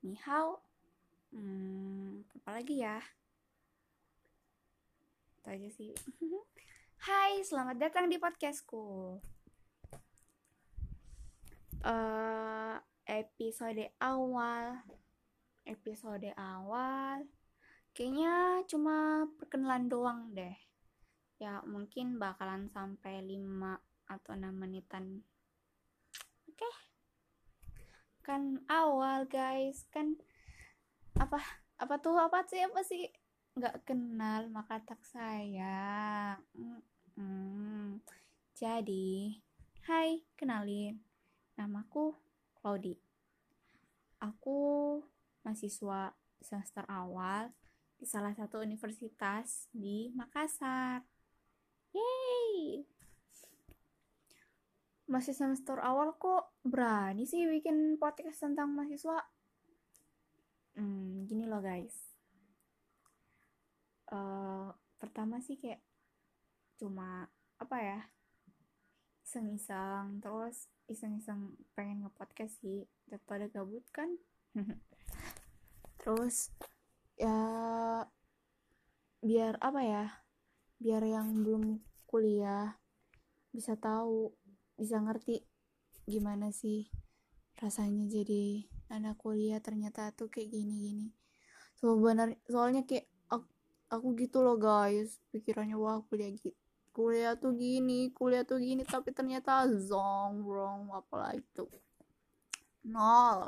Ni hao. Apa lagi ya? Itu aja sih. Hai, selamat datang di podcastku. Episode awal kayaknya cuma perkenalan doang deh. Ya, mungkin bakalan sampai 5 atau 6 menitan. Oke, kan awal guys. Kan apa apa sih nggak kenal maka tak sayang. Jadi, hai, kenalin, namaku Claudi. Aku mahasiswa semester awal di salah satu universitas di Makassar. Yeay, masih semester awal kok berani sih bikin podcast tentang mahasiswa. Gini loh guys. Pertama sih kayak cuma apa ya, iseng-iseng, terus iseng-iseng pengen nge-podcast sih daripada gabut kan. Terus ya biar apa ya, biar yang belum kuliah bisa tahu, bisa ngerti gimana sih rasanya jadi anak kuliah ternyata tuh kayak gini-gini. Soalnya kayak aku gitu loh guys, pikirannya wah kuliah tuh gini tapi ternyata zong wrong apalah itu nol.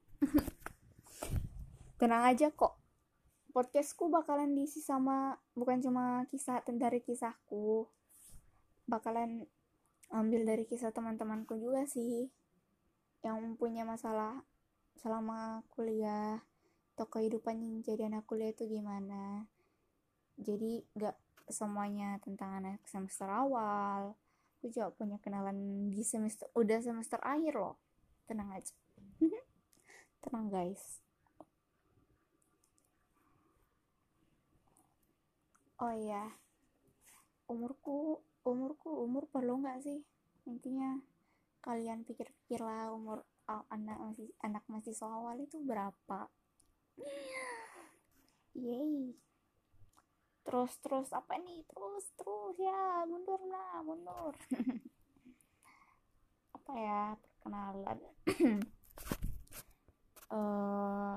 Tenang aja kok, podcastku bakalan diisi sama bukan cuma kisah dari kisahku, bakalan ambil dari kisah teman-temanku juga sih yang punya masalah selama kuliah atau kehidupan jadi anak kuliah itu gimana. Jadi gak semuanya tentang anak semester awal, aku juga punya kenalan di semester akhir loh. Tenang aja. Tenang guys. Oh iya, umur perlu nggak sih? Intinya kalian pikir-pikir lah, umur anak mahasiswa awal itu berapa. Yeay. Terus apa nih, terus ya, mundur. Apa ya, perkenalan. uh,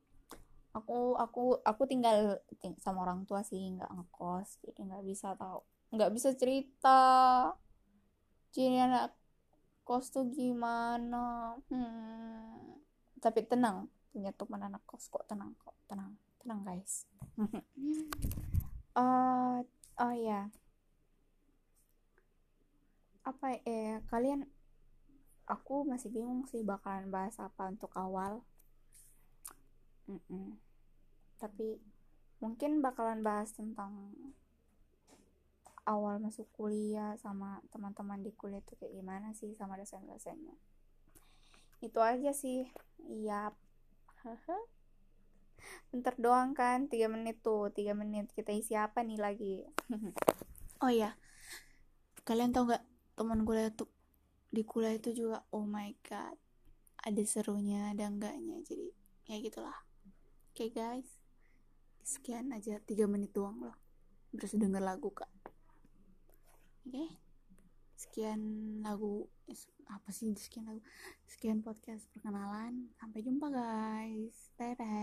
aku tinggal sama orang tua sih, nggak ngekos, jadi nggak bisa cerita jadi anak kos tuh gimana. Tapi tenang, punya teman anak kos kok, tenang guys. uh, oh ya, apa kalian, aku masih bingung sih bakalan bahas apa untuk awal. Tapi mungkin bakalan bahas tentang awal masuk kuliah sama teman-teman di kuliah itu kayak gimana sih, sama dosen-dosennya. Itu aja sih. Iya. Bentar doang kan, 3 menit tuh, 3 menit kita isi apa nih lagi. Oh iya, kalian tau gak, teman kuliah tuh di kuliah itu juga, oh my god, ada serunya ada enggaknya, jadi ya gitulah. Oke guys, sekian aja, 3 menit doang loh, terus denger lagu kak. Oke, sekian lagu, apa sih sekian lagu, sekian podcast perkenalan, sampai jumpa guys, bye bye.